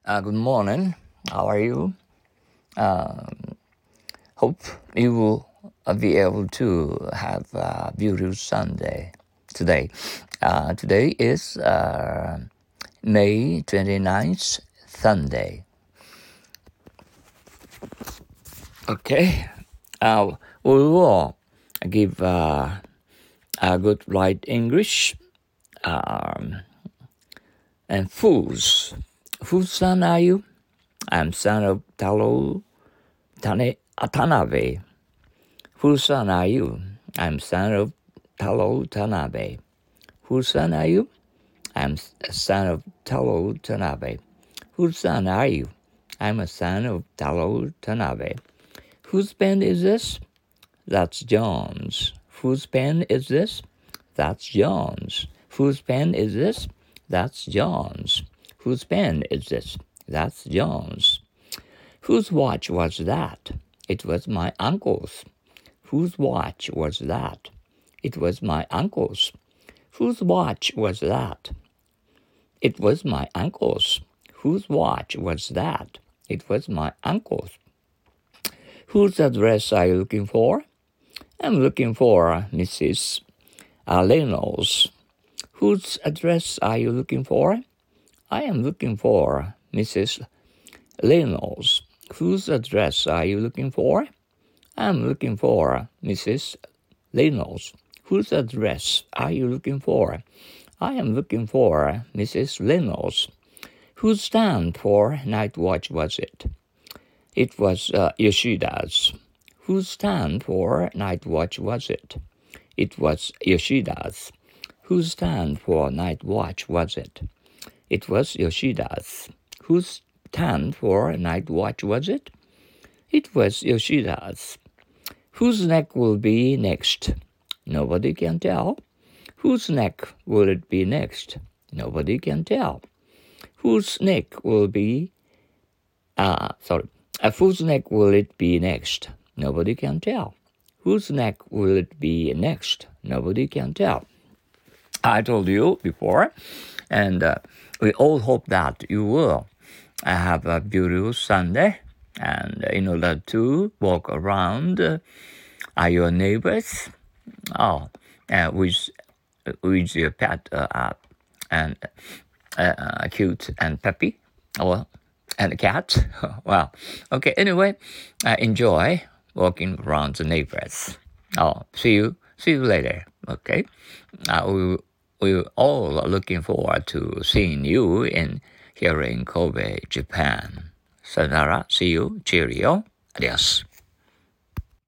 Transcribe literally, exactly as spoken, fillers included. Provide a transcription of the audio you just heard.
Uh, good morning. How are you? Um, hope you will uh, be able to have a beautiful Sunday today. Uh, today is uh, May twenty-ninth, Sunday. Okay. Uh, we will give uh, a good light English. Um, and fools. Whose son are you? I'm son of Taro Tane, Tanabe. Whose son are you? I'm son of Taro Tanabe. Whose son are you? I'm a son of Taro Tanabe. Whose son are you? I'm a son of Taro Tanabe. Whose pen is this? That's John's. Whose pen is this? That's John's. Whose pen is this? That's John's. Whose pen is this? That's John's. Whose watch was that? It was my uncle's. Whose watch was that? It was my uncle's. Whose watch was that? It was my uncle's. Whose watch was that? It was my uncle's. Whose address are you looking for? I'm looking for Missus Reynolds. Whose address are you looking for? I am looking for Missus Reynolds. Whose address are you looking for? I'm looking for Missus Reynolds. Whose address are you looking for? I am looking for Missus Reynolds. Whose stand for night watch was it? It was uh, Yoshida's. Whose stand for night watch was it? It was Yoshida's. Whose stand for night watch was it? It was Yoshida's. Whose stand for night watch was it? It was Yoshida's. Whose neck will be next? Nobody can tell. Whose neck will it be next? Nobody can tell. Whose neck will be, uh, sorry, uh, whose neck will it be next? Nobody can tell. Whose neck will it be next? Nobody can tell. I told you before, and uh, we all hope that you will have a beautiful Sunday. And in order to walk around uh, are your neighbors, oh, uh, with with your pet uh, uh, and uh, cute and peppy, or and a cat. Well, okay. Anyway, uh, enjoy walking around the neighbors. Oh, see you, see you later. Okay, uh, we we're all looking forward to seeing you in here in Kobe, Japan. Sayonara, see you, cheerio, adios.